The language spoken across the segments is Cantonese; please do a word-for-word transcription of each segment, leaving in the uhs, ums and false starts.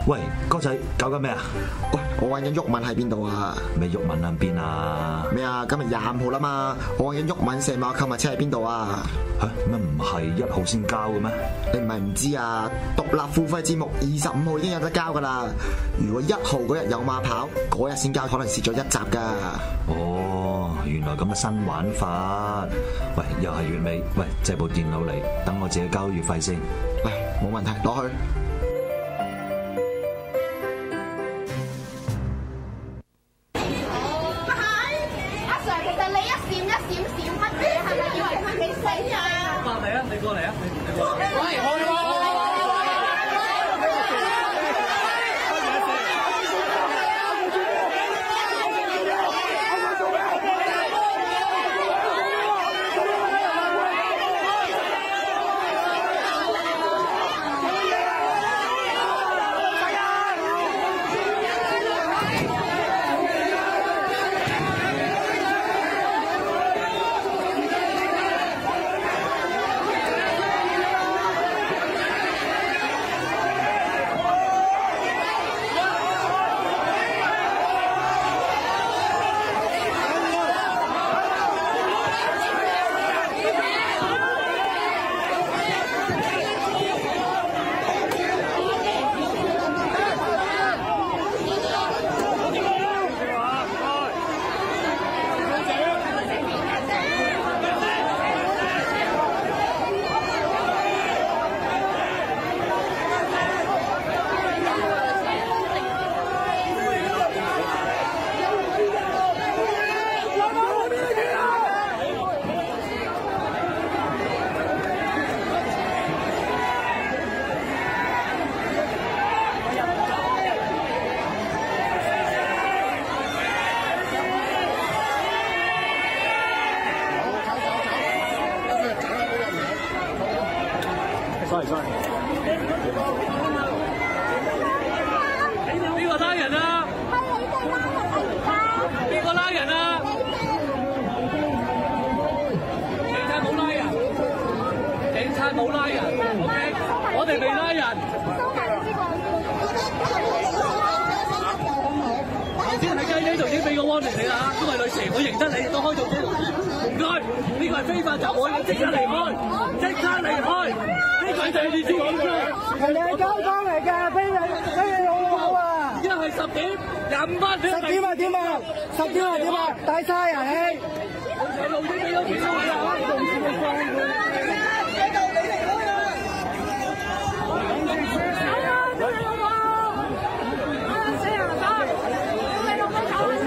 喂，哥仔搞緊咩啊？ 喂，我揾緊毓民喺邊度啊？ 咩毓民喺邊啊？ 咩啊？今日廿五號啦嘛，我揾緊毓民射馬購物車喺邊度啊？ 吓咩唔係一號先交嘅咩？ 你唔係唔知啊？獨立付費節目二十五號已經有得交噶啦。如果一號嗰日有馬跑，嗰日先交，可能蝕咗一集噶。 哦，原來咁嘅新玩法。喂，又係月尾，喂，借部電腦嚟，等我自己交月費先。 嚟，冇問題，攞去。 過嚟啊！你過嚟。喂，我我sorry sorry。邊個拉人啊？係你哋拉人啊！而家邊個拉人啊？警察冇拉人，警察冇拉人 ，OK， 我哋未拉人。頭先喺雞呢度已經俾個 warning 你啦，因為女士，我認得你，都開到呢度。唔該，呢個係非法集會，你即刻離開，即刻離開。呢個就係你先講嘅，人哋係交通嚟㗎，俾你俾你老母啊！而家係十點廿五分，十點啊點啊，十點啊點啊，大晒啊你！我路先俾咗幾多啊？仲先你放佢，喺度你離開啊！係啊，俾你老母！啊死人仔！俾你老母走啊！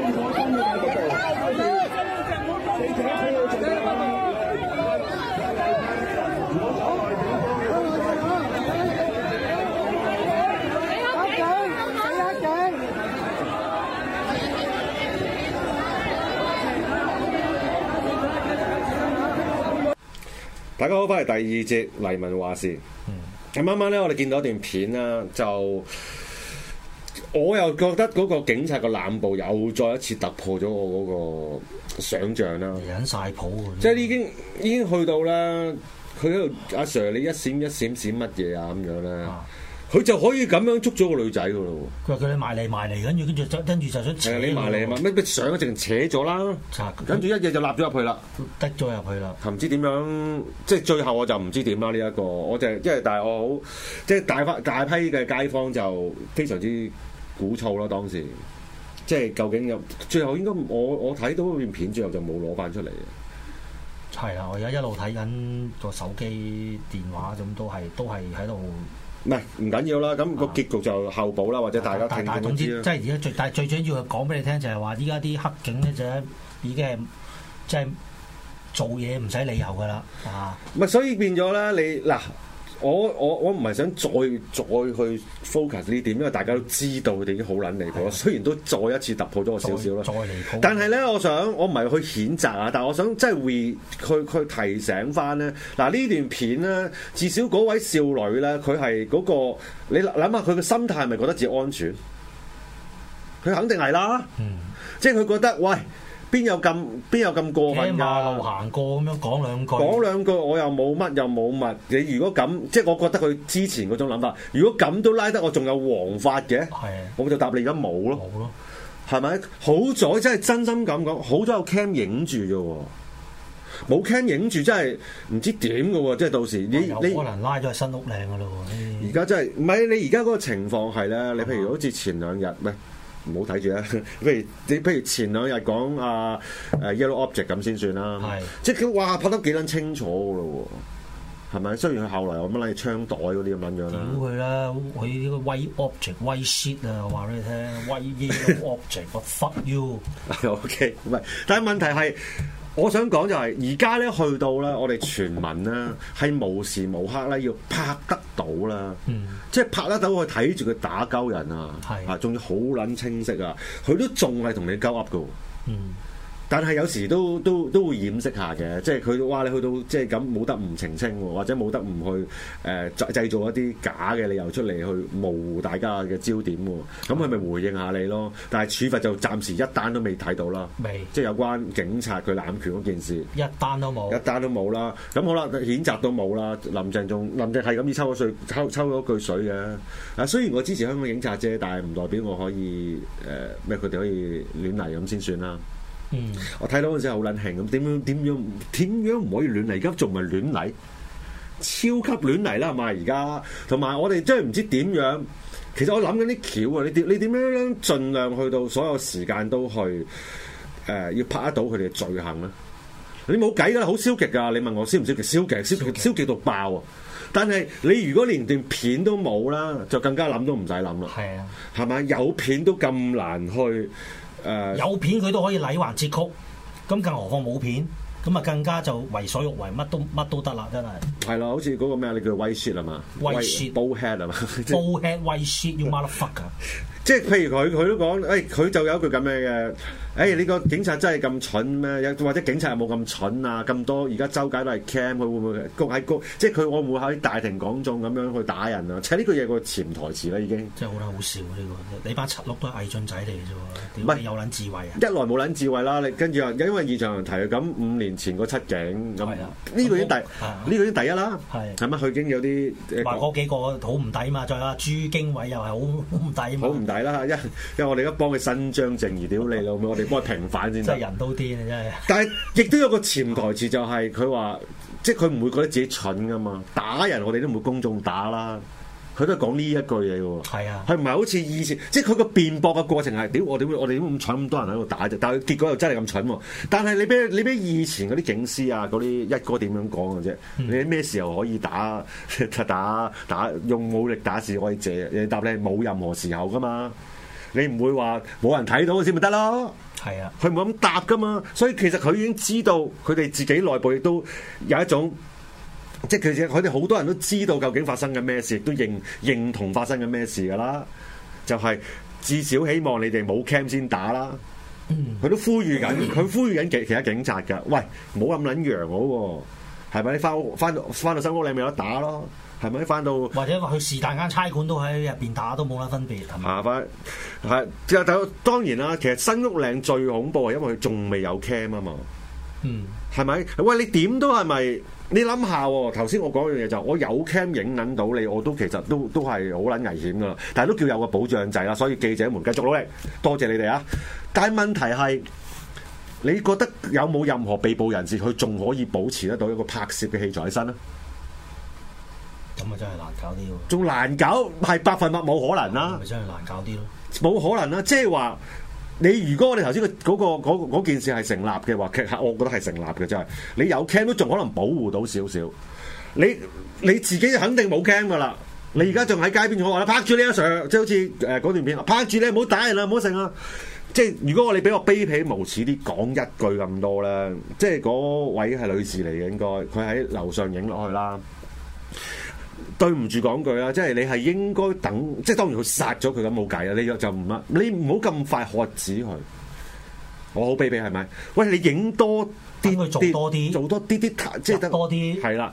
大家好，翻嚟第二節黎民話事。咁啱啱咧，我哋見到一段片啦，就我又覺得嗰個警察個濫捕又再一次突破咗我嗰個想像啦。 引晒譜即係已經已經去到啦，佢喺度阿 Sir，你一閃一閃閃乜嘢啊咁樣咧？佢、啊、就可以咁樣捉咗個女仔噶咯喎！ 佢話叫你埋嚟埋嚟，跟住跟住就跟住就想扯你埋嚟嘛？咩咩上咗直情扯咗啦，跟住一嘢就立咗入去啦， 滴咗入去啦。 唔知點樣，即係最後我就唔知點啦呢一個，我就係即係但係我好即係大翻大批嘅街坊就非常之鼓噪啦當時，即係究竟有最後應該我我睇到嗰段片最後就冇攞翻出嚟嘅。 係啦，我而家一路睇緊個手機電話咁都係都係喺度。 唔係唔緊要啦，咁個結局就後補啦，或者大家聽聽都知啦。 總之，即係而家最，但係最緊要係講俾你聽，就係話依家啲黑警咧就已經係即係做嘢唔使理由噶啦，啊！ 唔係，所以變咗咧，你嗱，我我我唔係想再再去 focus 呢點，因為大家都知道佢哋已經好撚離譜。雖然都再一次突破咗我少少啦， 再離譜。 但係咧，我想我唔係去譴責啊，但係我想即係 re 去去提醒翻咧。嗱呢段片咧，至少嗰位少女咧，佢係嗰個你諗下佢嘅心態係咪覺得自己安全？佢肯定係啦，嗯、即係佢覺得喂。 邊有咁邊有咁過分㗎？ 馬路行過咁樣講兩句， 講兩句我又冇乜又冇乜。你如果咁，即係我覺得佢之前嗰種諗法，如果咁都拉得我仲有黃髮嘅，我就答你而家冇咯， 冇咯， 係咪？好在真係真心咁講，好在有 cam 影住啫喎。冇 cam 影住真係唔知點嘅喎，即係到時你你可能拉咗去新屋嶺嘅咯喎。 而家真係唔係你而家嗰個情況係咧？你譬如好似前兩日，喂唔好睇住啊！譬如你譬如前兩日講啊誒 Yellow Object 咁先算啦，即係佢哇拍得幾撚清楚嘅咯喎，係咪？雖然佢後來有乜撚嘢槍袋嗰啲咁樣樣啦。 屌佢啦！佢呢個 White Object White Shit 啊，話俾你聽 White Yellow Object 我 fuck you。 O K， 唔係，但係問題係。我想講就係而家咧去到咧，我哋全民咧係無時無刻咧要拍得到啦，嗯、即係拍得到去睇住佢打鳩人啊，啊仲要好撚清晰啊，佢都仲係同你鳩噏㗎喎。嗯但係有時都都都會掩飾下嘅，即係佢哇你去到即係咁冇得唔澄清喎，或者冇得唔去誒、呃、製造一啲假嘅理由出嚟去模糊大家嘅焦點喎，咁佢咪回應下你咯？但係處罰就暫時一單都未睇到啦，未即係有關警察佢濫權嗰件事，一單都冇，一單都冇啦。咁好啦，譴責都冇啦。林鄭仲林鄭係咁意抽咗水，抽抽咗句水嘅。啊，雖然我支持香港警察啫，但係唔代表我可以誒咩佢哋可以亂嚟咁先算啦。嗯，我睇到嗰陣時好撚興咁，點樣點樣點樣唔可以亂嚟？而家仲唔係亂嚟？超級亂嚟啦，係嘛？而家同埋我哋真係唔知點樣。其實我諗緊啲橋啊，你點你點樣盡量去到所有時間都去誒、呃，要拍得到佢哋嘅罪行咧？你冇計㗎啦，好消極㗎。你問我消唔消極？消極，消極，消極到爆啊！但係你如果連段片都冇啦，就更加諗都唔使諗啦。係啊，係咪有片都咁難去？誒、uh, 有片佢都可以禮還節曲，咁更何況冇片，咁啊更加就為所欲為，乜都乜都得啦，真係。係啦，好似嗰個咩你叫 white shit 係嘛？white shit，bullhead 係嘛 ？bullhead white shit you motherfucker。 即係譬如佢佢都講，誒、哎、佢就有一句咁樣嘅，誒、哎、你個警察真係咁蠢咩？或者警察有冇咁蠢啊？咁多而家周街都係 cam，佢會唔會谷喺谷？即係佢會唔會喺大庭廣眾咁樣去打人啊？其實呢個嘢個潛台詞啦，已經。 真係好撚好笑呢、呢個，你班七碌都係偽俊仔嚟嘅啫喎，點解有撚智慧啊？ 一來冇撚智慧啦，你跟住又因為現場提咁五年前個七警咁，呢個已經第呢、啊、個已經第一啦，係係咪？佢已經有啲話嗰幾個好唔抵嘛，再啦朱經緯又係好唔抵嘛， 好唔抵啦，因因為我哋而家幫佢伸張正義，屌你老味，我哋幫佢平反先。 真係人都癲啊！真係。 但係亦都有個潛台詞，就係佢話，即係佢唔會覺得自己蠢噶嘛，打人我哋都唔會公眾打啦。佢都係講呢一句嘢喎。係啊。佢唔係好似以前，即係佢個辯駁嘅過程係，屌我點會我哋點會咁蠢咁多人喺度打啫？但係結果又真係咁蠢喎。但係你俾你俾以前嗰啲警司啊，嗰啲一哥點樣講嘅啫？嗯、你咩時候可以打打打用武力打示威者？你答你冇任何時候噶嘛？你唔會話冇人睇到先咪得咯？係啊，佢唔會咁答噶嘛，所以其實佢已經知道佢哋自己內部亦都有一種，即係其實佢哋好多人都知道究竟發生緊咩事，亦都認認同發生緊咩事噶啦。就係、是、至少希望你哋冇 cam 先打啦。佢、嗯、都呼籲緊，佢呼籲緊其其他警察㗎。喂，冇咁撚揚好喎，係咪？你翻屋翻到翻到新屋你咪有得打咯。係咪翻到？或者話佢是但間差館都喺入邊打都冇乜分別，係咪？啊，翻係就就當然啦。其實新屋嶺最恐怖係因為佢仲未有 cam 啊嘛。嗯，係咪？喂，你點都係咪？你諗下喎，頭先我講樣嘢就我有 cam 影撚到你，我都其實都都係好撚危險噶啦。但係都叫有個保障仔啦，所以記者們繼續努力，多謝你哋啊！但係問題係，你覺得有冇任何被捕人士佢仲可以保持得到一個拍攝嘅器材喺身咧？咁啊，真係難搞啲喎！仲難搞，係百分百冇可能啦！咪真係難搞啲咯，冇可能啦！即係話你如果我哋頭先嘅嗰個嗰嗰件事係成立嘅話，其實我覺得係成立嘅，真係你有 cam 都仲可能保護到少少。你你自己肯定冇 cam 噶啦，你而家仲喺街邊我話啦，拍住你阿 Sir，即係好似誒嗰段片，拍住你唔好打人啦，唔好剩啊！即係如果我哋俾我卑鄙無恥啲講一句咁多咧，即係嗰位係女士嚟嘅，應該佢喺樓上影落去啦。對唔住講句啦，即係你係應該等，即係當然佢殺咗佢咁冇計啦，你就唔乜，你唔好咁快喝止佢。我好卑鄙係咪？喂，你影多啲，做多啲，做多啲啲，即係得多啲，係啦。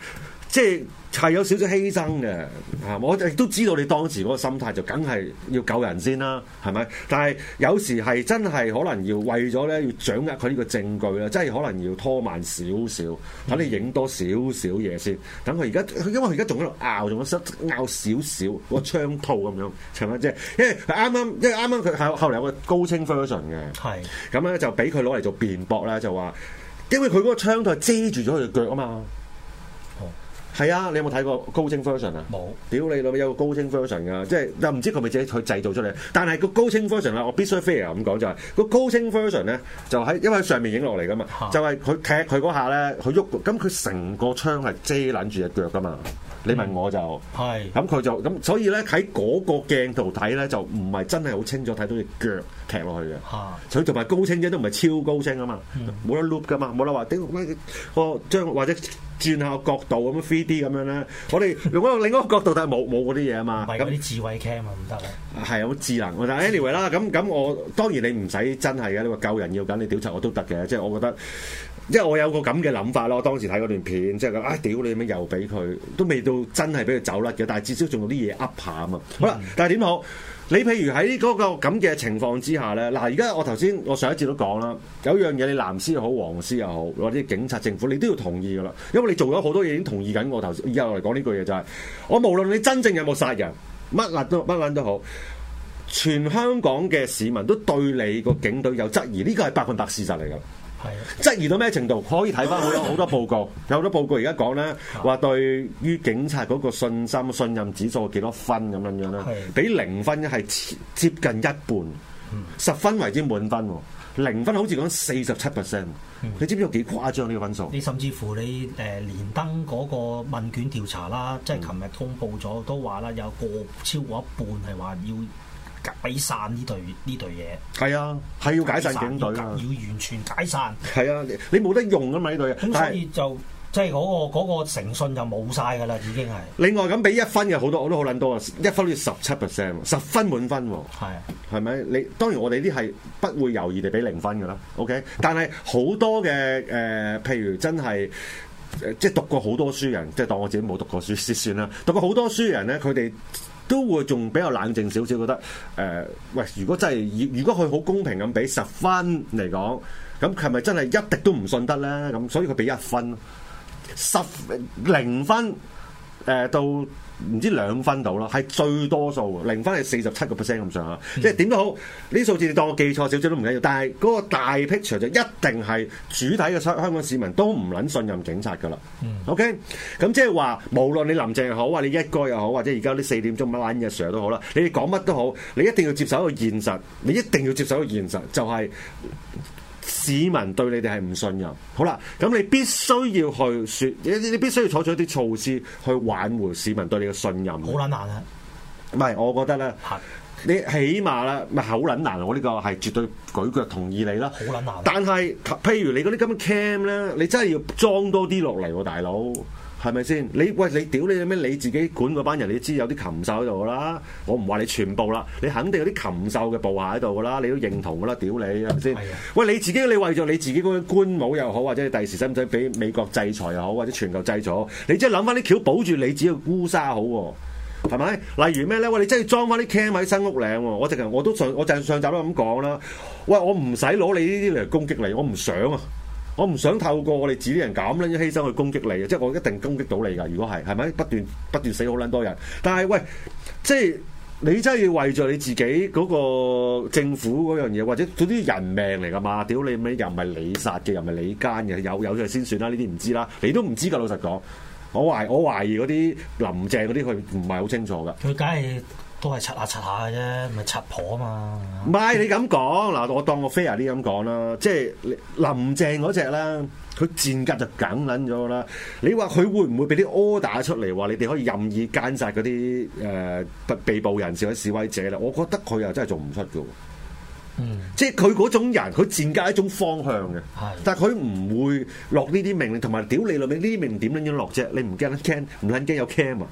即係係有少少犧牲嘅嚇，我亦都知道你當時嗰個心態就梗係要救人先啦，係咪？但係有時係真係可能要為咗咧要掌握佢呢個證據咧，真係可能要拖慢少少，等你影多少少嘢先。等佢而家，因為佢而家仲喺度拗，仲喺度拗少少個槍套咁樣，係咪即係？因為佢啱啱，因為啱啱佢後後嚟有個高清 version 嘅，係咁咧就俾佢攞嚟做辯駁啦，就話因為佢嗰個槍套係遮住咗佢嘅腳啊嘛。係啊，你有冇睇過高清 version 啊？冇。屌你老味有個高清 version 噶，即係又唔知佢咪自己去製造出嚟。但係個高清 version 啦，我必須 fair 咁講就係、是、個高清 version 咧，就喺因為喺上面影落嚟噶嘛，啊、就係佢踢佢嗰下咧，佢喐，咁佢成個槍係遮撚住隻腳噶嘛。你問我就係，咁佢、嗯、就咁，所以咧喺嗰個鏡圖睇咧，就唔係真係好清楚睇到隻腳踢落去嘅。佢同埋高清啫，都唔係超高清啊嘛，冇、嗯、得 loop 噶嘛，冇得話點個將或者轉下個角度咁樣 three D 咁樣咧。我哋用嗰個另一個角度睇冇冇嗰啲嘢啊嘛。係嗰啲智慧 cam 啊，唔得啊。係好智能，但係 anyway 啦，咁咁我當然你唔使真係嘅，你話救人要緊，你屌柒我都得嘅，即係我覺得。因為我有個咁嘅諗法咯，我當時睇嗰段片，即係講啊屌你咁樣又俾佢，都未到真係俾佢走甩嘅，但係至少仲有啲嘢噏下啊嘛。好啦，但係點好？你譬如喺嗰個咁嘅情況之下咧，嗱而家我頭先我上一節都講啦，有樣嘢你藍絲又好，黃絲又好，或者警察政府，你都要同意噶啦，因為你做咗好多嘢已經同意緊我頭先，以後嚟講呢句嘢就係、是，我無論你真正有冇殺人，乜撚都乜撚都好，全香港嘅市民都對你個警隊有質疑，呢個係百分百事實嚟噶。係質疑到咩程度？可以睇翻好多好多報告，有好多報告而家講咧，話對於警察嗰個信心、信任指數幾多分咁樣樣咧？比零分係接近一半，十分為之滿分，零分好似講四十七 percent。你知唔知有幾誇張呢個分數？你甚至乎你誒、呃、連登嗰個問卷調查啦，即係琴日公佈咗，都話啦，有個超過一半係話要解散呢隊呢隊嘢。係啊，係要解散警隊啊，要完全解散。係啊，你你冇得用啊嘛呢隊嘢。咁所以就即係嗰個嗰、嗰個誠信就冇晒㗎啦，已經係。另外咁俾一分嘅好多，我都好撚多啊！一分要十七 percent，十分滿分喎。係係咪？你當然我哋啲係不會猶豫地俾零分㗎啦。OK，但係好多嘅誒、呃，譬如真係。即係讀過好多書人，即係當我自己冇讀過書先算啦。讀過好多書人咧，佢哋都會仲比較冷靜少少，覺得誒、呃，喂，如果真係，如果佢好公平咁俾十分嚟講，咁係咪真係一滴都唔信得咧？咁所以佢俾一分，十零分誒、呃、到唔知兩分到啦，係最多數。零分係四十七個 percent 咁上下，嗯、即係點都好，呢啲數字你當我記錯少少都唔緊要。但係嗰個大 picture 就一定係主體嘅香港市民都唔撚信任警察㗎啦。嗯、OK，咁即係話，無論你林鄭又好，或者你一哥又好，或者而家啲四點鐘乜撚嘢 Sir 都好啦，你哋講乜都好，你一定要接受一個現實，你一定要接受一個現實，就係、是。市民對你哋係唔信任，好啦，咁你必須要去説，你你必須要採取一啲措施去挽回市民對你嘅信任。好撚難啊！唔係，我覺得咧，你起碼啦，唔係好撚難，我呢個係絕對舉腳同意你啦。好撚難。但係，譬如你嗰啲咁嘅 cam 咧，你真係要裝多啲落嚟喎，大佬。係咪先？你喂你屌你咩？你自己管嗰班人，你知有啲禽獸喺度噶啦。我唔話你全部啦，你肯定有啲禽獸嘅部下喺度噶啦。你都認同噶啦，屌你係咪先？的喂你自己，你為咗你自己嗰個官帽又好，或者你第時使唔使俾美國制裁又好，或者全球制裁，你即係諗翻啲橋保住你自己嘅烏紗好喎，係咪？例如咩咧？喂，你真係裝翻啲 cam 喺新屋嶺喎。我直情我都上我就上集都咁講啦。喂，我唔使攞你呢啲嚟攻擊你，我唔想啊。我唔想透過我哋自己人咁撚犧牲去攻擊你嘅，即係我一定攻擊到你㗎。如果係係咪不斷不斷死好撚多人？但係喂，即係你真係要為咗你自己嗰個政府嗰樣嘢，或者嗰啲人命嚟㗎嘛？屌你咩？又唔係你殺嘅，又唔係你奸嘅，有有就先算啦。呢啲唔知啦，你都唔知㗎。老實講，我懷我懷疑嗰啲林鄭嗰啲佢唔係好清楚㗎。佢梗係。都係柒下柒下嘅啫，咪柒婆啊嘛！唔係你咁講嗱，我當我 fair 啲咁講啦，即係林鄭嗰隻啦，佢賤格就梗撚咗啦。你話佢會唔會俾啲 order 出嚟話你哋可以任意姦殺嗰啲誒被捕人士或者示威者咧？我覺得佢又真係做唔出嘅。嗯，即係佢嗰種人，佢賤格係一種方向嘅，係但係佢唔會落呢啲命令，同埋屌你老味呢啲命令點撚樣落啫？你唔驚得 can 唔撚驚有 cam 啊？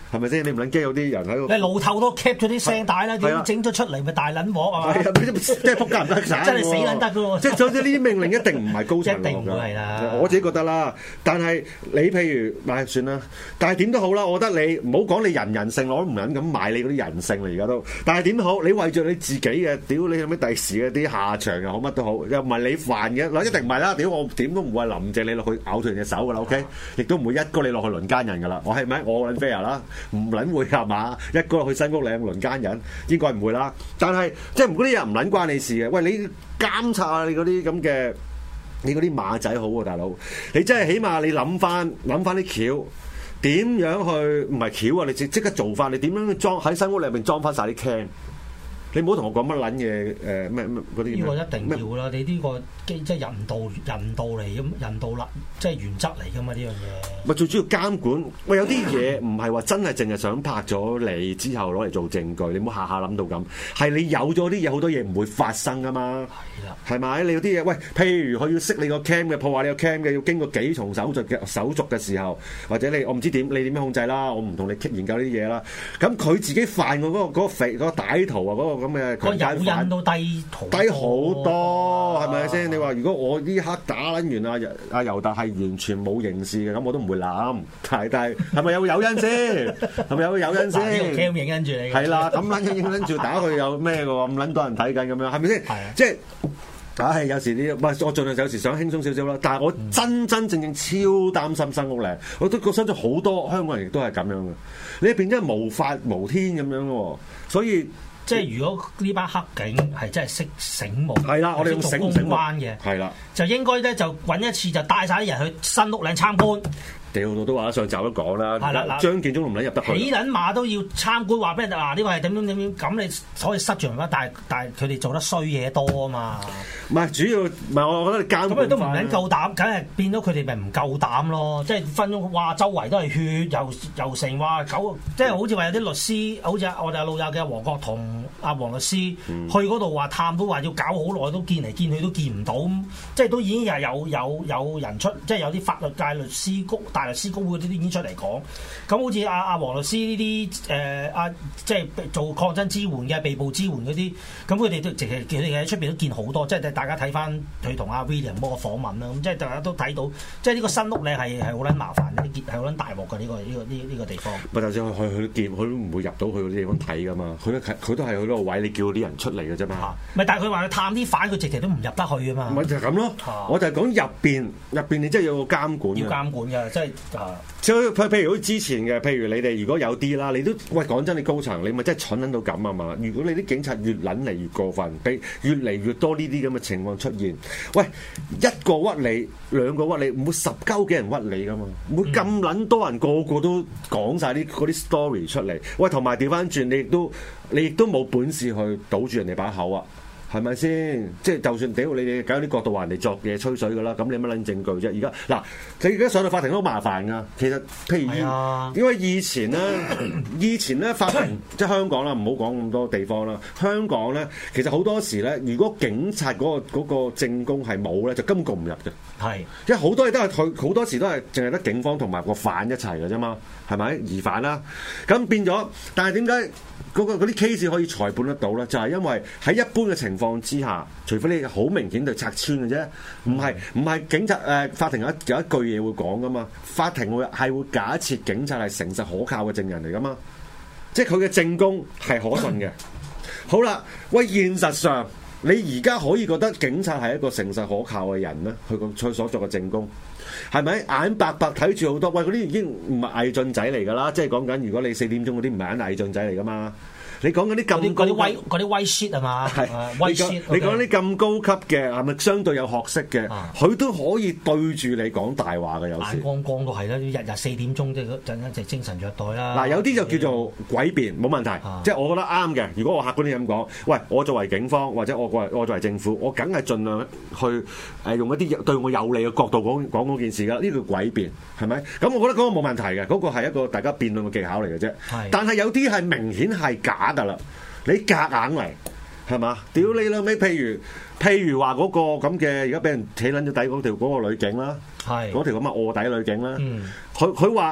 係咪先？你唔撚驚有啲人喺度？ 你路透都 cap 咗啲聲帶啦，點整咗出嚟咪大撚鑊係嘛？ 係啊，即係撲街唔得散， 真係死撚得㗎喎！ 即係總之呢啲命令一定唔係高層落一定唔會係啦。 我自己覺得啦，但係你譬如唉算啦，但係點都好啦，我覺得你唔好講你人人性，我都唔撚咁買你嗰啲人性啦，而家都。但係點都好，你為咗你自己嘅，屌你有咩第時嘅啲下場又好乜都好，又唔係你犯嘅，嗱一定唔係啦，屌我點都唔會林鄭你落去咬斷隻手㗎啦 ，OK？亦都唔會一哥你落去輪奸人㗎啦，我係咪我撚 fair 啦？唔撚會係嘛？一哥落去新屋嶺輪奸人，應該唔會啦。但係即係唔嗰啲嘢唔撚關你事嘅，喂你監察下你嗰啲咁嘅。你嗰啲馬仔好喎、啊，大佬！你真係起碼你諗翻諗翻啲橋，點樣去唔係橋啊？你即即刻做翻，你點樣裝喺新屋裏面裝翻晒啲 can？你唔好同我講乜撚嘢誒咩咩嗰啲。呢、呃、個一定要啦！你呢個即係人道人道嚟咁，人道啦，即係原則嚟噶嘛呢樣嘢。咪最主要監管。喂，有啲嘢唔係話真係淨係想拍咗你之後攞嚟做證據，你唔好下下諗到咁。係你有咗啲嘢，好多嘢唔會發生噶嘛。係啦，係咪？你有啲嘢，喂，譬如佢要熄你個 cam 嘅，破壞你個 cam 嘅，要經過幾重手續嘅手續嘅時候，或者你我唔知點，你點樣控制啦？我唔同你研究呢啲嘢啦。咁佢自己犯嘅嗰、嗰個嗰、嗰個肥嗰、嗰個歹徒啊，嗰、嗰個咁嘅個誘因都低低好多，係咪先？你話如果我呢刻打撚完啊阿尤達係完全冇刑事嘅，咁我都唔會諗。但係係咪有個誘因先？係咪有個誘因先？呢個 cam 影跟住你。係啦，咁撚影影跟住打佢有咩嘅喎？咁撚多人睇緊咁樣，係咪先？係啊，即係。梗係有時啲，唔係我盡量有時想輕鬆少少啦。但係我真真正正超擔心新屋嶺，我都覺得好多香港人亦都係咁樣嘅。你變真係無法無天咁樣喎，所以即係如果呢班黑警係真係識醒目，係啦，我哋用醒唔醒關嘅，係啦，就應該咧就揾一次就帶晒啲人去新屋嶺參觀。屌到都話上集都講啦，張建宗唔撚入得去，起撚馬都要參觀，話俾人嗱呢個係點點點點，咁你可以塞住人啦。但係但係佢哋做得衰嘢多啊嘛。唔係主要，唔係我覺得你監咁你都唔撚夠膽，梗係變咗佢哋咪唔夠膽咯。即係分鐘哇，周圍都係血，又又成話九，即係好似話有啲律師，好似我哋阿老友嘅黃國同阿黃律師、嗯、去嗰度話探，都話要搞好耐，都見嚟見去都見唔到，即係都已經係有有有人出，即係有啲法律界律師局大律師公會呢啲已經出嚟講，咁好似阿阿黃律師呢啲誒阿即係做抗爭支援嘅被捕支援嗰啲，咁佢哋都直情佢哋喺出邊都見好多，即係大家睇翻佢同阿 William 嗰個訪問啦，咁即係大家都睇到，即係呢個新屋咧係係好撚麻煩嘅，係好撚大鑊嘅呢個呢、呢個呢呢、呢個地方。咪就算佢佢都見，佢都唔會入到去嗰啲地方睇噶嘛，佢都佢都係去嗰個位，你叫啲人出嚟嘅啫嘛。咪但係佢話佢探啲犯，佢直情都唔入得去啊嘛。咪就係咁咯，啊、我就係講入邊入邊，你真係有個監管。要監管嘅，即係。即係譬如好似之前嘅，譬如你哋如果有啲啦，你都喂講真，你高層你咪真係蠢撚到咁啊嘛！如果你啲警察越撚嚟越過分，俾越嚟越多呢啲咁嘅情況出現，喂一個屈你，兩個屈你，唔會十鳩幾人屈你噶嘛？唔會咁撚多人個個都講晒啲嗰啲 story 出嚟。喂，同埋調翻轉，你亦都你亦都冇本事去堵住人哋把口啊！係咪先？即係就算屌你哋搞啲角度話人哋作嘢吹水噶啦，咁你有乜撚證據啫？而家嗱，你而家上到法庭都好麻煩噶。其實譬如，啊、因為以前咧，以前咧法庭即係香港啦，唔好講咁多地方啦。香港咧，其實好多時咧，如果警察嗰、嗰個嗰、嗰個證供係冇咧，就根本告唔入嘅。係，因為好多嘢都係佢好多時都係淨係得警方同埋個犯一齊嘅啫嘛，係咪疑犯啦？咁變咗，但係點解？嗰啲 case 可以裁判得到咧，就係、是、因為喺一般嘅情況之下，除非你好明顯就拆穿嘅啫，唔係唔係警察誒、呃、法庭有一有一句嘢會講噶嘛，法庭會係會假設警察係誠實可靠嘅證人嚟噶嘛，即係佢嘅證供係可信嘅。好啦，喂，現實上你而家可以覺得警察係一個誠實可靠嘅人咩？佢個佢所作嘅證供。係咪眼白白睇住好多？喂，嗰啲已經唔係偽進仔嚟㗎啦！即係講緊，如果你四點鐘嗰啲唔係偽進仔嚟㗎嘛？你講緊啲咁嗰啲威嗰啲威 shit 係嘛？係威 shit。你講啲咁高級嘅係咪相對有學識嘅？佢、啊、都可以對住你講大話嘅，有時眼光光都係啦，日日四點鐘即係陣間就精神虐待啦。嗱，有啲就叫做詭辯，冇問題，啊、即係我覺得啱嘅。如果我客觀啲咁講，喂，我作為警方或者我我作為政府，我梗係盡量去誒用一啲對我有利嘅角度講講嗰件事㗎。呢個詭辯係咪？咁我覺得嗰個冇問題嘅，嗰、嗰個係一個大家辯論嘅技巧嚟嘅啫。但係有啲係明顯係假㗎啦，你夾硬嚟係嘛？屌你老味！譬如譬如話嗰個咁嘅而家俾人企撚咗底嗰條嗰個女警啦，係嗰條咁嘅臥底女警啦。佢佢話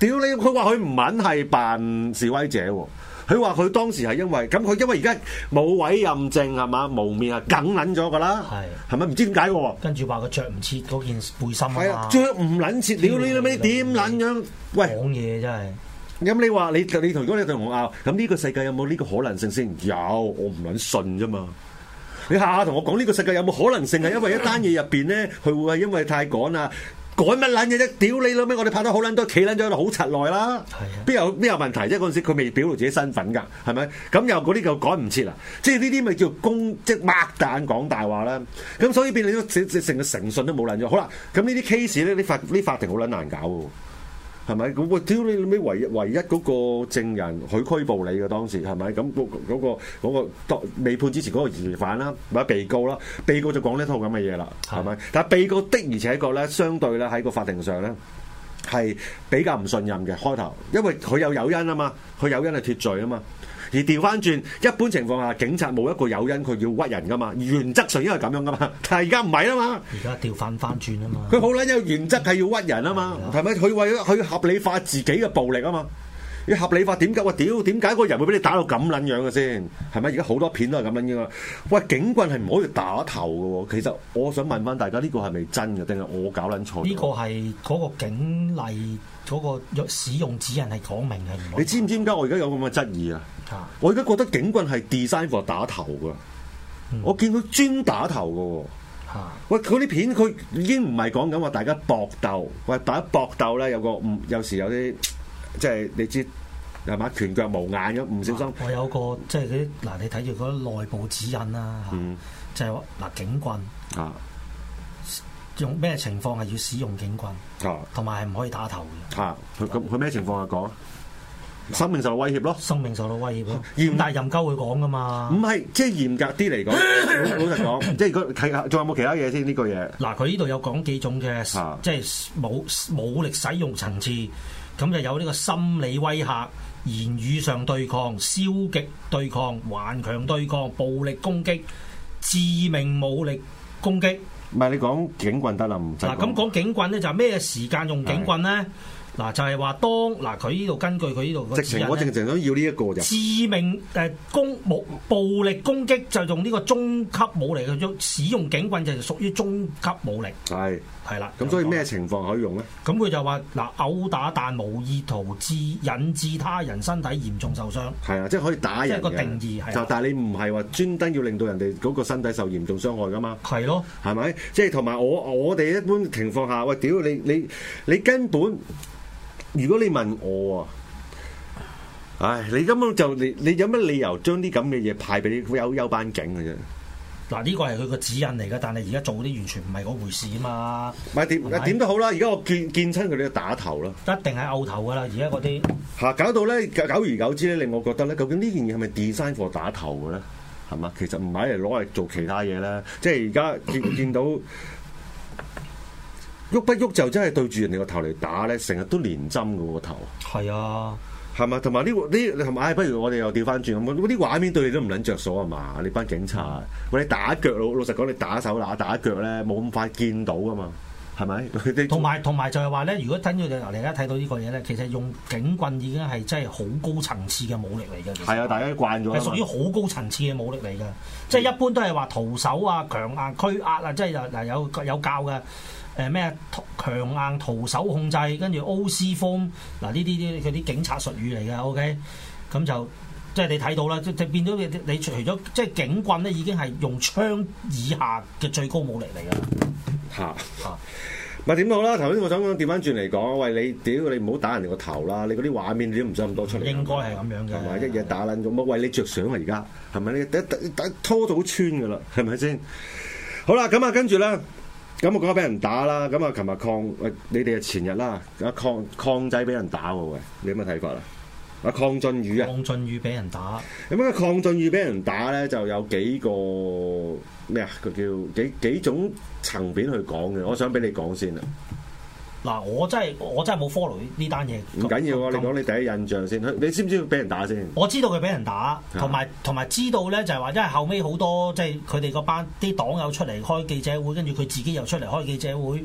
屌你！佢話佢唔撚係扮示威者喎。佢話佢當時係因為咁，佢因為而家冇委任證係嘛，蒙面啊，梗撚咗㗎啦，係係咪唔知點解喎？ 跟住話佢着唔切嗰件背心啊嘛， 係啊，著唔撚切，屌你老味點撚樣？喂， 講嘢真係。 咁你話你你同如果你同我拗，咁呢個世界有冇呢個可能性先？有，我唔撚信啫嘛。你下下同我講呢個世界有冇可能性係因為一單嘢入邊咧，佢會係因為太趕啊？趕乜撚嘢啫？屌你老味！我哋拍得好撚多，企撚咗喺度好柒耐啦。邊有邊有問題啫？嗰陣時佢未表露自己身份㗎，係咪？咁又嗰啲就趕唔切啦。即係呢啲咪叫公即係擘大眼講大話啦。咁所以變你都成成個誠信都冇撚咗。好啦，咁呢啲 case 咧，啲法啲法庭好撚難搞喎。係咪？咁我屌你老味，唯一唯一嗰個證人佢拘捕你嘅當時係咪？咁嗰嗰個嗰個當未判之前嗰個疑犯啦，或者被告啦，被告就講呢套咁嘅嘢啦，係咪？但係被告的而且確咧，相對咧喺個法庭上咧係比較唔信任嘅開頭，因為佢有誘因啊嘛，佢誘因係脫罪啊嘛。而調翻轉，一般情況下，警察冇一個誘因，佢要屈人噶嘛。原則上應該係咁樣噶嘛，但係而家唔係啊嘛。而家調翻翻轉啊嘛。佢好撚有原則係要屈人啊嘛，係咪？佢為咗去合理化自己嘅暴力啊嘛。要合理化點解？我屌點解個人會俾你打到咁撚樣嘅先？係咪？而家好多片都係咁樣嘅嘛。喂，警棍係唔可以打頭嘅喎。其實我想問翻大家，呢個係咪真嘅，定係我搞撚錯？呢個係嗰個警例嗰個使用指引係講明係唔可以。你知唔知點解我而家有咁嘅質疑啊？我而家覺得警棍係 design for 打頭㗎，嗯、我見佢專打頭㗎喎。啊、喂，嗰啲片佢已經唔係講緊話大家搏鬥，喂，大家搏鬥咧有個唔有時有啲即係你知係嘛，拳腳無眼咁，唔小心。我有個即係嗰啲嗱，你睇住嗰啲內部指引啦，嗯、就係話嗱警棍啊，用咩情況係要使用警棍啊，同埋係唔可以打頭嘅。嚇、啊，佢咁佢咩情況下講？生命受到威脅咯，生命受到威脅咯。嚴但係任鳩會講噶嘛？唔係，即係嚴格啲嚟講，老實講，即係如果睇下，仲有冇其他嘢先呢個嘢？嗱，佢呢度有講幾種嘅，啊、即係武武力使用層次，咁就有呢個心理威嚇、言語上對抗、消極對抗、頑強對抗、暴力攻擊、致命武力攻擊。唔係你講警棍得啦，唔使。嗱，咁講警棍咧，就係咩時間用警棍咧？嗱就係話當嗱佢呢度根據佢呢度直情我直情想要呢一個就致命誒攻武暴力攻擊就用呢個中級武力嘅，使用警棍就屬於中級武力。係係啦，咁所以咩情況可以用咧？咁佢就話嗱毆打但無意圖致引致他人身體嚴重受傷。係啊，即係可以打人嘅。即係個定義係。就但係你唔係話專登要令到人哋嗰個身體受嚴重傷害噶嘛？係咯，係咪？即係同埋我我哋一般情況下，喂屌你你你根本。如果你問我啊，唉，你根本就你你有乜理由將啲咁嘅嘢派俾啲優優班警嘅啫？嗱，呢個係佢個指引嚟㗎，但係而家做啲完全唔係嗰回事啊嘛。唔係點點都好啦，而家我見見親佢哋打頭啦，一定係拗頭㗎啦。而家嗰啲嚇搞到咧，久而久之咧，令我覺得咧，究竟呢件嘢係咪 design for 打頭嘅咧？係嘛？其實唔係嚟攞嚟做其他嘢咧，即係而家見見到。喐不喐就真係對住人哋個頭嚟打咧，成日都連針嘅個頭。係啊，係嘛？同埋呢個呢，係咪？不如我哋又調翻轉咁，嗰啲畫面對你都唔撚着數啊嘛！你班警察，喂、嗯，你打腳老老實講，你打手打打腳咧，冇咁快見到噶嘛？係咪？同埋同埋就係話咧，如果等住你而家睇到呢個嘢咧，其實用警棍已經係真係好高層次嘅武力嚟嘅。係啊，大家慣咗。係屬於好高層次嘅武力嚟嘅，即係、嗯、一般都係話徒手啊、強硬驅壓啊，即係嗱有有，有教嘅。誒咩強硬徒手控制，跟住 O C 風嗱呢啲啲佢啲警察術語嚟嘅 ，OK，咁就即係你睇到啦，即係變咗你你除咗即係警棍咧，已經係用槍以下嘅最高武力嚟嘅。嚇嚇，咪點好啦？頭先我想講調翻轉嚟講，喂你屌你唔好打人哋個頭啦！你嗰啲畫面你都唔使咁多出嚟。應該係咁樣嘅，係咪一嘢打撚咗？冇為你着想啊！而家係咪你打打拖到穿㗎啦？係咪先？好啦，咁啊跟住咧。咁我講俾人打啦，咁啊，琴日抗，喂，你哋啊前日啦，阿鄺鄺仔俾人打喎，喂，你有乜睇法啊？阿鄺俊宇啊，鄺俊宇俾人打，咁啊，鄺俊宇俾人打咧，就有幾個咩啊？佢叫幾幾種層面去講嘅，我想俾你講先啊。嗱，我真係我真係冇 follow 呢單嘢。唔緊要啊，你講你第一印象先。你知唔知佢俾人打先？我知道佢俾人打，同埋同埋知道咧就係話，因為後尾好多即係佢哋嗰班啲黨友出嚟開記者會，跟住佢自己又出嚟開記者會，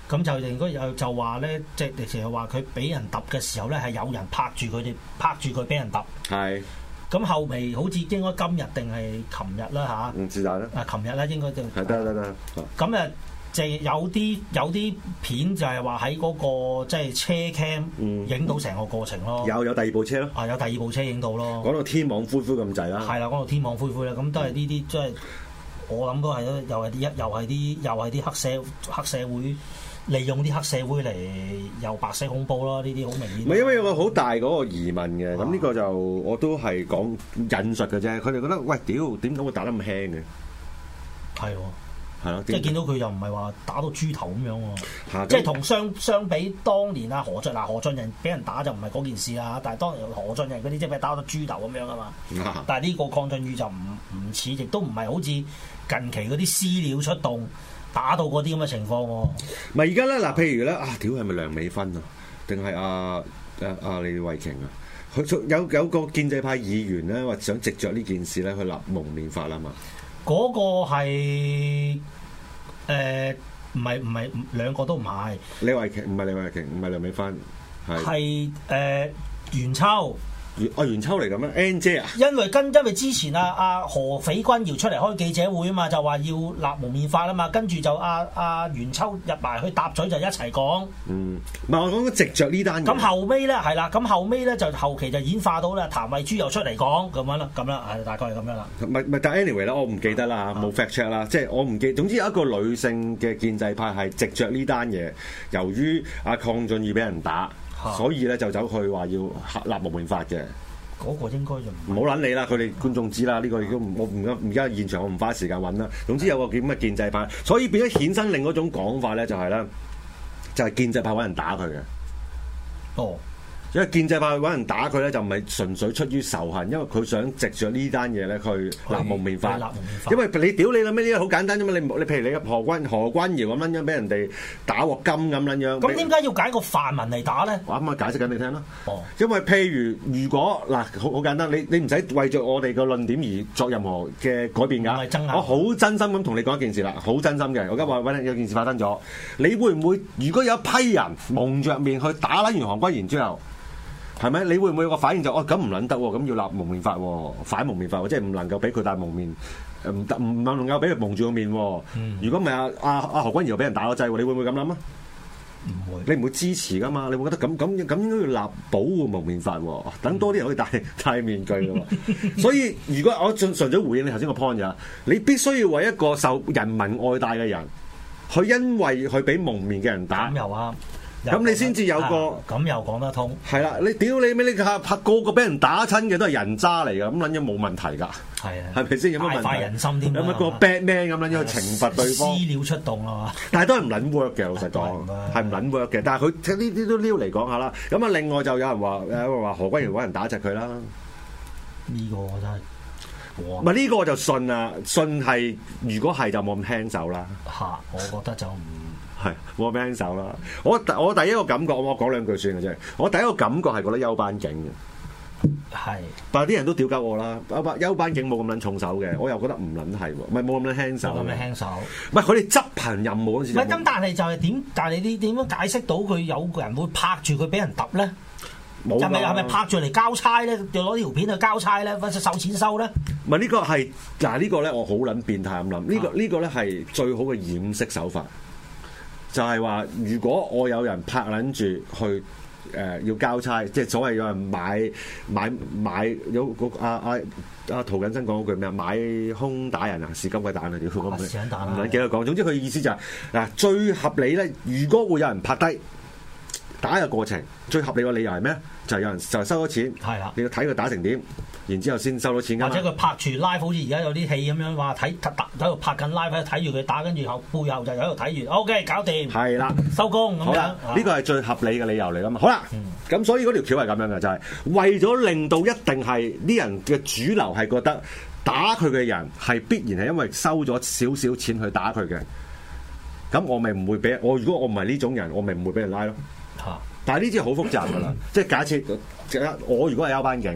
咁就應該有就話咧，即係成日話佢俾人揼嘅時候咧，係有人拍住佢哋，拍住佢俾人揼。係。咁後尾好似應該今日定係琴日啦嚇。唔是但啦。啊，琴日啦應該就。係得得得。咁誒，就有啲有啲片就係話喺嗰個即係車 cam 影到成個過程咯。有有第二部車咯。啊，有第二部車影到咯。講到天網恢恢咁滯啦。係啦，講到天網恢恢啦，咁都係呢啲即係。我諗都係咯，又係啲一，又係啲，又係啲黑社黑社會利用啲黑社會嚟又白色恐怖咯，呢啲好明顯。唔係因為有個好大嗰個疑問嘅，咁呢、啊、個就我都係講引述嘅啫。佢哋覺得喂，屌點解會打得咁輕嘅？係喎。係咯，即係見到佢又唔係話打到豬頭咁樣喎，即係同相相比當年啊何俊嗱何俊仁俾人打就唔係嗰件事啦，但係當年何俊仁嗰啲即係俾打到豬頭咁樣啊嘛，啊但係呢個鄺俊宇就唔唔似，亦都唔係好似近期嗰啲私料出動打到嗰啲咁嘅情況喎。唔係而家咧嗱，譬如咧啊，屌係咪梁美芬啊，定係阿阿阿李慧瓊啊？佢有有個建制派議員咧話想藉着呢件事咧去立蒙面法啦嘛。嗰個係誒唔係唔係兩個都唔係，李慧瓊唔係李慧瓊，唔係梁美芬，係係誒袁秋。阿袁秋嚟咁咩 N 姐啊？因為跟因為之前啊阿何匪君堯出嚟開記者會啊嘛，就話要立蒙面法啊嘛，跟住就阿阿袁秋入埋去搭嘴就一齊講。嗯，唔係我講直着呢單嘢。咁後尾咧係啦，咁後尾咧就後期就演化到咧譚慧珠又出嚟講咁樣啦，咁啦係大概係咁樣啦。唔係唔係，但 anyway 咧，我唔記得啦嚇，冇 fact check 啦，即係我唔記。總之有一個女性嘅建制派係直着呢單嘢，由於阿鄺俊宇俾人打。所以咧就走去話要立蒙面法嘅，嗰個應該就唔好撚你啦，佢哋觀眾知啦，呢、呢個亦都我唔而家現場我唔花時間揾啦。總之有個叫咩建制派，所以變咗衍生另一種講法咧，就係咧就係建制派揾人打佢嘅。哦。因為建制派揾人打佢咧，就唔係純粹出於仇恨，因為佢想藉著呢單嘢咧去立蒙面法。因為你屌你啦咩？呢個好簡單啫嘛！你你譬如你何君何君堯咁撚樣俾人哋打鑊金咁撚樣。咁點解要揀個泛民嚟打咧？我啱啱解釋緊你聽啦。哦。因為譬如如果嗱好好簡單，你你唔使為著我哋個論點而作任何嘅改變㗎。唔係爭拗。我好真心咁同你講一件事啦，好真心嘅。我而家話揾有件事發生咗，你會唔會如果有一批人蒙着面去打撚完何君堯之後？係咪？你會唔會有個反應就哦咁唔撚得喎？咁要立蒙面法喎，反蒙面法喎，即係唔能夠俾佢戴蒙面，唔得唔能夠俾佢蒙住個面喎。嗯、如果唔係阿阿阿何君堯又俾人打個劑喎，你會唔會咁諗啊？唔會，你唔會支持噶嘛？你會覺得咁咁咁應該要立保護蒙面法喎，等多啲人可以戴戴面具嘅喎。所以如果我純粹回應你頭先個 point 就係，你必須要為一個受人民愛戴嘅人，佢因為佢俾蒙面嘅人打。咁又啱。咁你先至有個咁又講得通，係啦！你屌你咩？你拍拍個個俾人打親嘅都係人渣嚟㗎，咁撚樣冇問題㗎，係啊，係咪先有乜問題？大快人心添，有乜個 Batman 咁撚樣去懲罰對方？私料出動啊嘛！但係都係唔撚 work 嘅，老實講係唔撚 work 嘅。但係佢呢啲都撩嚟講下啦。咁啊，另外就有人話誒話何君堯揾人打窒佢啦。呢個我真係唔係呢個我就信啊，信係如果係就冇咁輕手啦。嚇，我覺得就唔。係冇咩輕手啦！我我第一個感覺，我講兩句算嘅啫。我第一個感覺係覺得休班警嘅，係是，但係啲人都屌鳩我啦。休班休班警冇咁撚重手嘅，我又覺得唔撚係喎，唔係冇咁撚輕手。冇咁輕手，唔係佢哋執行任務嗰時。唔係咁，但係就係點？但係你點樣解釋到佢有個人會拍住佢俾人揼咧？冇係咪係咪拍住嚟交差咧？就攞條片去交差咧，或者收錢收咧？唔係呢個係嗱呢個咧，我好撚變態咁諗。呢個呢個咧係最好嘅掩飾手法。就係話，如果我有人拍撚住去誒、呃、要交差，即係所謂有人買買買有個阿阿阿涂謹申講嗰句咩啊？買空打人啊，是金鬼蛋啊！屌咁樣，唔撚記得講。總之佢意思就係、是、嗱，最合理咧，如果會有人拍低打嘅過程，最合理嘅理由係咩？就係、是、有人就係收咗錢，係啦，你要睇佢打成點。然之後先收到錢㗎，或者佢拍住 live，好似而家有啲戲咁樣話睇喺度拍緊 live，睇住佢打，跟住後背後就喺度睇完 ，OK 搞掂，係啦，收工咁樣。呢個係最合理嘅理由嚟㗎嘛。好啦，咁、嗯、所以嗰條橋係咁樣嘅，就係、是、為咗令到一定係啲人嘅主流係覺得打佢嘅人係必然係因為收咗少少錢去打佢嘅，咁我咪唔會俾我。如果我唔係呢種人，我咪唔會俾人拉咯。嚇、啊！但係呢啲好複雜㗎啦，即係假設我如果係休班警。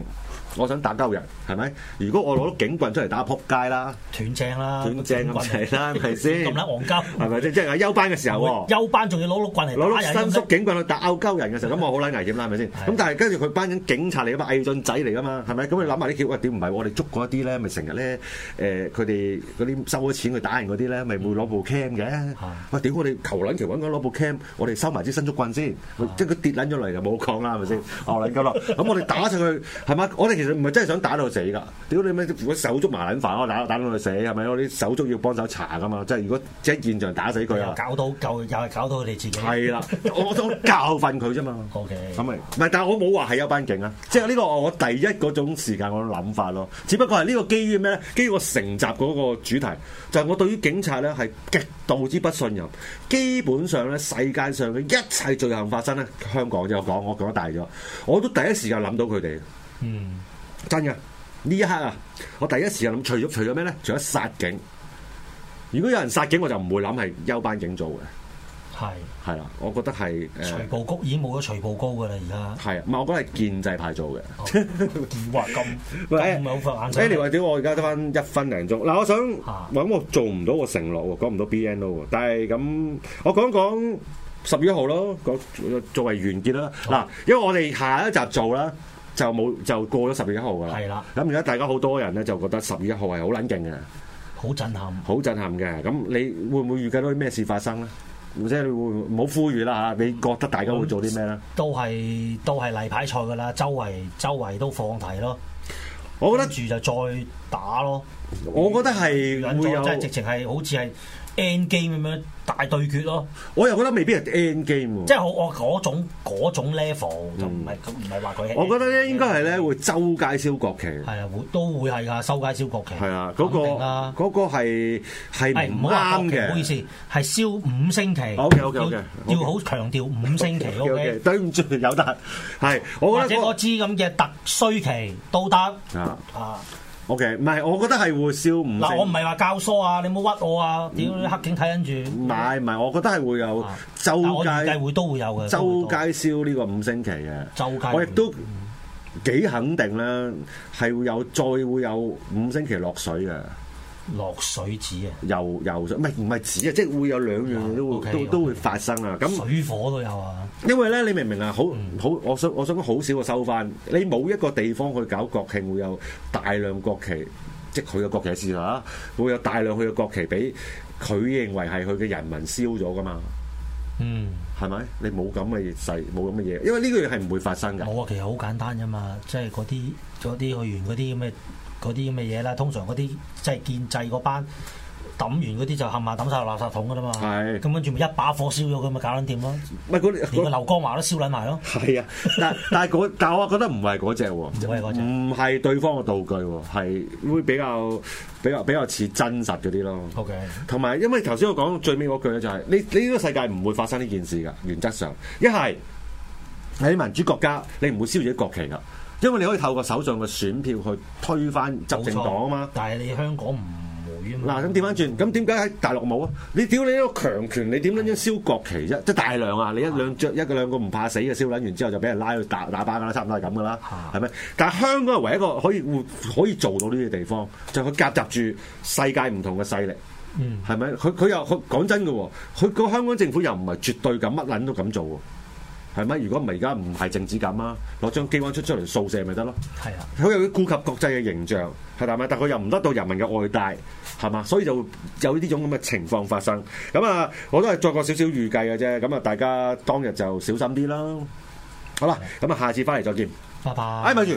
我想打鳩人，係咪？如果我攞到警棍出嚟打，撲街啦，斷正啦， 斷正咁滯啦，係咪先？ 咁撚戇鳩， 係咪先？即係休班嘅時候喎， 休班仲要攞碌棍嚟攞碌伸縮警棍去打拗鳩人嘅時候，咁我好撚危險啦，係咪先？咁但係跟住佢班緊警察嚟噶嘛，偽進仔嚟噶嘛，係咪？咁你諗下啲橋，喂點唔係？我哋捉過一啲咧，咪成日咧誒，佢哋嗰啲收咗錢去打人嗰啲咧，咪會攞部 cam 嘅。喂，屌我哋求撚橋揾緊攞部 cam，我哋收埋支伸縮棍先，即係佢跌撚咗嚟就冇講啦，係咪先？哦撚鳩咯，咁我哋打上去係嘛？我哋其實唔係真係想打到死㗎，屌你咩？如果手足麻撚煩，我打打到佢死係咪？我啲手足要幫手查㗎嘛，即係如果即係現場打死佢啊， 搞到夠又係搞到佢哋自己。係啦，我想教訓佢啫嘛。 O K， 咁咪唔係，但係我冇話係休班警啊，即係呢個我第一嗰種時間我諗法咯。只不過係呢個基於咩咧？基於我成集嗰個主題，就係、是、我對於警察咧係極度之不信任。基本上咧，世界上嘅一切罪行發生咧，香港就講我講得大咗，我都第一時間諗到佢哋。嗯，真嘅呢一刻啊，我第一時間諗，除咗除咗咩咧？除咗殺警。如果有人殺警，我就唔會諗係休班警做嘅。係係啦，我覺得係誒。 徐步高已經冇咗徐步高㗎啦，而家係唔係？我覺得係建制派做嘅。 哇咁咁唔係好發眼睛。 Anyway，屌我而家得翻一分零鐘。嗱，我想揾我做唔到個承諾喎，講唔到 B N O 喎。但係咁，我講講十月一號咯，講作為完結啦。嗱，因為我哋下一集做啦，就冇就過咗十月一號㗎啦。係啦。咁而家大家好多人咧就覺得十月一號係好撚勁嘅， 好震撼， 好震撼嘅。咁你會唔會預計到啲咩事發生咧？或者你會唔好呼籲啦嚇？你覺得大家會做啲咩咧？ 都係都係例牌賽㗎啦，周圍周圍都放題咯。 我覺得住就再打咯。 我覺得係會有， 即係直情係好似係 end game 咁樣大對決咯。 我又覺得未必係 end game 喎。 即係我我嗰種嗰種 level 就唔係咁，唔係話佢。 我覺得咧應該係咧會周街燒國旗。 係啊，會都會係㗎，收街燒國旗。 係啊，嗰個嗰個係係唔啱嘅。唔好意思， 係燒五星旗。 OK OK OK， 要好強調五星旗。OK， 對唔住，有得係。我覺得或者嗰支咁嘅特需旗都得。啊啊！ O K， 唔係，我覺得係會燒五星。 嗱，我唔係話教唆啊，你冇屈我啊！屌、嗯，黑警睇緊住。唔係唔係，我覺得係會有周街， 我計會都會有嘅。 周街燒呢個五星旗嘅。周街。我亦都幾肯定啦，係會有再會有五星旗落水嘅。 落水紙啊！ 游游水，唔係唔係紙啊，即係會有兩樣嘢都會、啊 okay, 都 okay. 都會發生啊！咁水火都有啊！ 因為咧，你明唔明啊？好好，我想我想講好少個收翻。你冇一個地方去搞國慶，會有大量國旗，即係佢嘅國旗事嚇，會有大量佢嘅國旗俾佢認為係佢嘅人民燒咗噶嘛？嗯，係咪？你冇咁嘅勢，冇咁嘅嘢，因為呢個嘢係唔會發生㗎。 冇啊，其實好簡單啫嘛，即係嗰啲嗰啲去完嗰啲咁嘅。嗰啲咁嘅嘢啦，通常嗰啲即係建制嗰班抌完嗰啲就冚唪唥抌晒落垃圾桶噶啦嘛。係。咁跟住咪一把火燒咗佢咪搞撚掂咯。唔係嗰連個劉江華都燒撚埋咯。係啊，但但係嗰但係我覺得唔係嗰隻喎，唔係嗰隻，唔係對方嘅道具喎，係會比較比較比較似真實嗰啲咯。OK。同埋因為頭先我講最尾嗰句咧就係、是、你你呢個世界唔會發生呢件事㗎，原則上一係喺民主國家你唔會燒自己國旗㗎。因為你可以透過手上嘅選票去推翻執政黨啊嘛，但係你香港唔會啊嘛。嗱咁調翻轉，咁點解喺大陸冇啊？你屌你一個強權，你點撚樣燒國旗啫？即係大量啊！你一兩著一個兩個唔怕死嘅燒撚完之後就俾人拉去打打靶㗎啦，差唔多係咁㗎啦，係咪？但係香港係唯一一個可以會可以做到呢啲地方，就係佢夾雜住世界唔同嘅勢力，嗯，係咪？佢佢又佢講真嘅喎，佢個香港政府又唔係絕對咁乜撚都咁做喎。係咪？如果唔係而家唔係政治咁啊，攞張機關出出嚟掃射咪得咯？係啊，佢又要顧及國際嘅形象，係咪？但佢又唔得到人民嘅愛戴，係嘛？所以就有呢種咁嘅情況發生。咁啊，我都係作個少少預計嘅啫。咁啊，大家當日就小心啲啦。好啦，咁啊，下次翻嚟再見。拜拜。哎，咪住。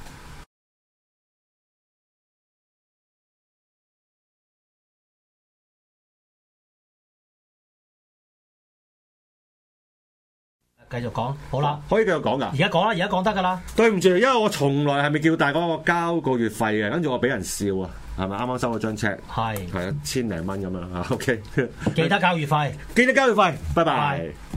繼續講，好啦，可以繼續講噶。而家講啦，而家講得噶啦。對唔住，因為我從來係咪叫大家我交個月費嘅，跟住我俾人笑啊，係咪啱啱收咗張 check？係係啊，千零蚊咁樣啊。OK，記得交月費，記得交月費，拜拜。